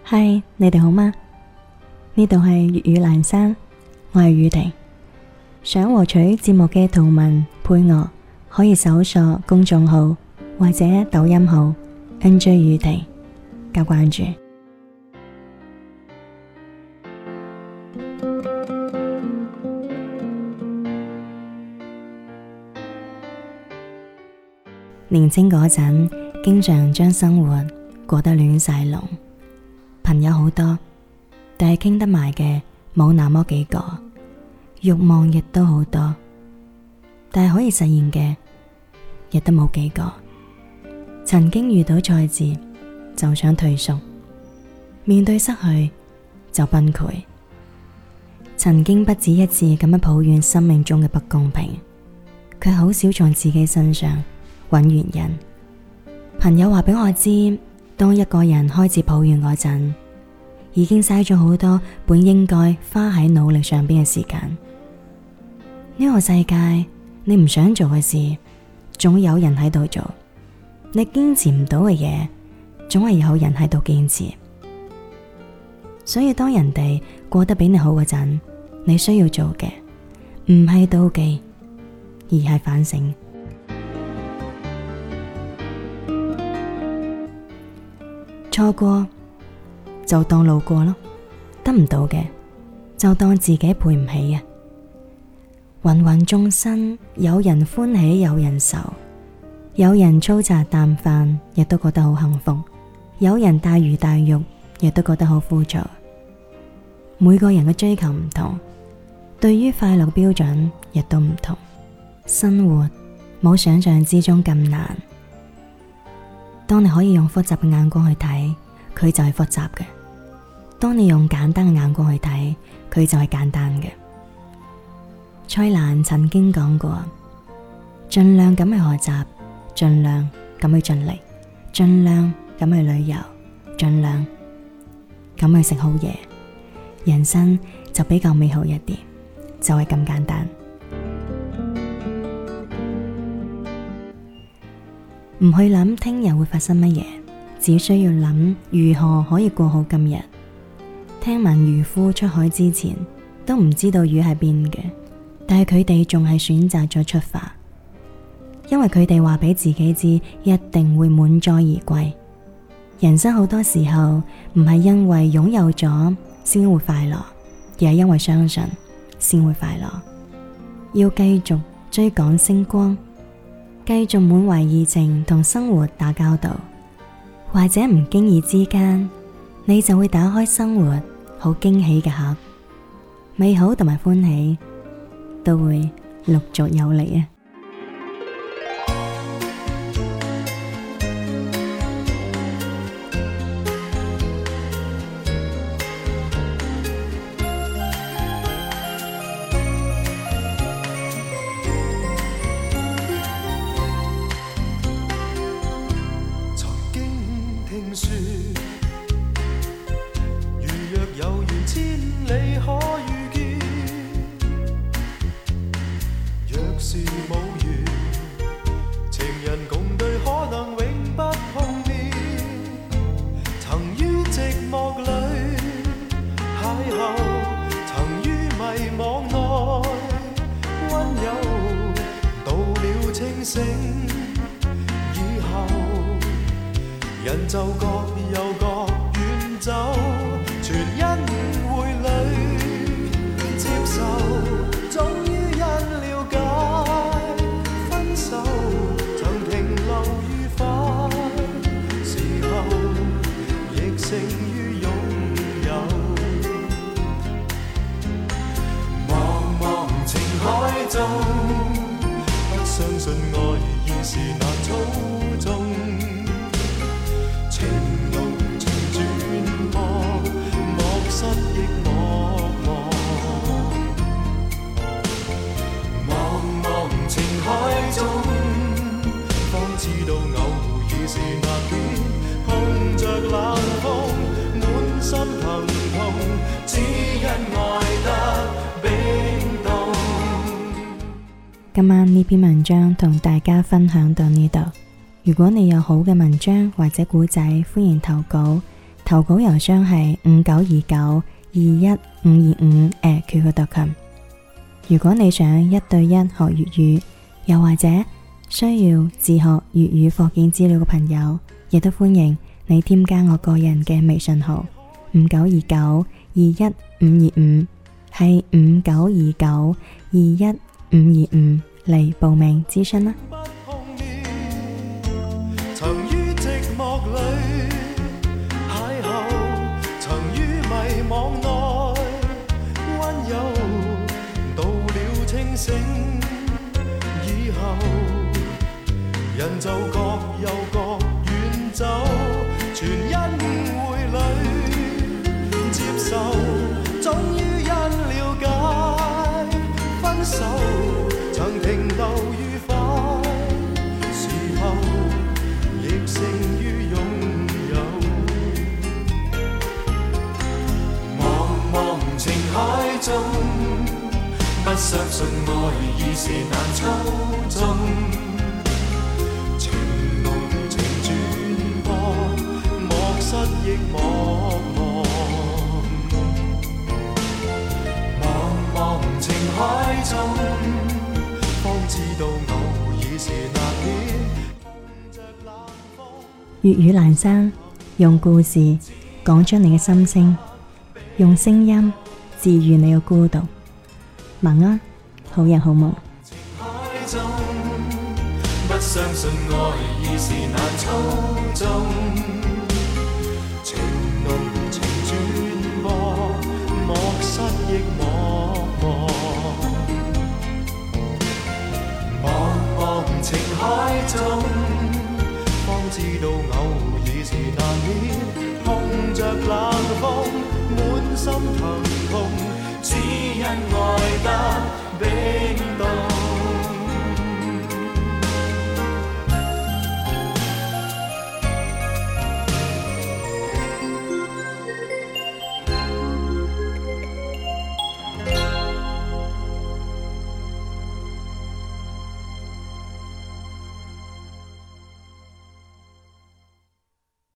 嗨，你哋好嗎？呢度係粵語闌珊，我係宇婷。想獲取節目嘅圖文配樂，可以搜索公眾號或者抖音號 NJ 宇婷加關注。年輕嗰陣，經常將生活過得亂晒龍。朋友好多，但係傾得埋嘅冇那麼幾個，慾望亦都好多，但係可以實現嘅亦都冇幾個。曾經遇到挫折就想退縮，面對失去就崩潰。曾經不止一次咁樣抱怨生命中嘅不公平，卻好少從自己身上揾原因。朋友話俾我知，當一個人開始抱怨嗰陣，已經嘥咗好多本應該花喺努力上邊嘅時間。呢個世界，你唔想做嘅事，總有人喺度做；你堅持唔到嘅嘢，總係有人喺度堅持。所以當人哋過得比你好嗰陣，你需要做嘅唔係妒忌，而係反省。錯過就當路過咯，得唔到嘅就當自己配唔起啊！芸芸眾生，有人歡喜有人愁，有人粗茶淡飯亦都覺得好幸福，有人大魚大肉亦都覺得好枯燥。每個人嘅追求唔同，對於快樂標準亦都唔同。生活冇想象之中咁難。當你可以用複雜嘅眼光去睇，佢就係複雜嘅；當你用簡單嘅眼光去睇，佢就係簡單嘅。蔡瀾曾經講過，盡量咁去學習，盡量咁去盡力，盡量咁去旅遊，盡量咁去食好嘢，人生就比較美好一啲，就係咁簡單。唔去諗聽日會發生乜嘢，只需要諗如何可以過好今日。聽聞漁夫出海之前都唔知道魚喺邊嘅，但係佢哋仲係選擇咗出發，因為佢哋話俾自己知一定會滿載而歸。人生好多時候唔係因為擁有咗先會快樂，而係因為相信先會快樂。要繼續追趕星光，繼續滿懷熱情同生活打交道，或者唔經意之間，你就會打開生活好驚喜嘅盒，美好同埋歡喜都會陸續有嚟啊！ 如若有緣千里可遇見，若是無緣，情人共對可能永不碰面。曾於寂寞裏邂逅，曾於迷惘內溫柔，到了清醒以後，人就各有各遠走，全因誤會裏接受，終於因了解分手，曾停留愉快時候，亦勝於擁有。茫茫情海中，不相信愛現時難操縱，情動情轉播，莫失憶莫忘。茫茫情海中，方知道偶爾是難免，碰着冷風，滿心疼痛，只因愛得冰凍。 今晚呢篇文章同大家分享到呢度。如果你有好嘅文章或者故仔，歡迎投稿。 投稿郵箱係5929215525@qq.com。如果你想1對1學粵語，又或者需要自學粵語課件資料嘅朋友，亦都歡迎你添加我個人嘅微信號5929215525，係5929215525嚟報名諮詢啦。 曾於寂寞裏邂逅，曾於迷惘內溫柔，到了清醒以後，人就各有各遠走，全因會侶接受，終於因了解分手，曾停留愉快時候，亦勝於擁有。茫茫情海中，不相信愛已是難操縱，情濃情轉播，莫失憶莫忘。茫茫情海中，方知道偶已是難免。 粵語闌珊，用故事講出你嘅心聲，用聲音治愈你嘅孤獨。晚安，好人好夢。 不相信愛已是難操縱，情濃情轉播，莫失憶莫忘。茫茫情海中，方知道偶已是難免，碰着冷風，滿心疼痛，只因愛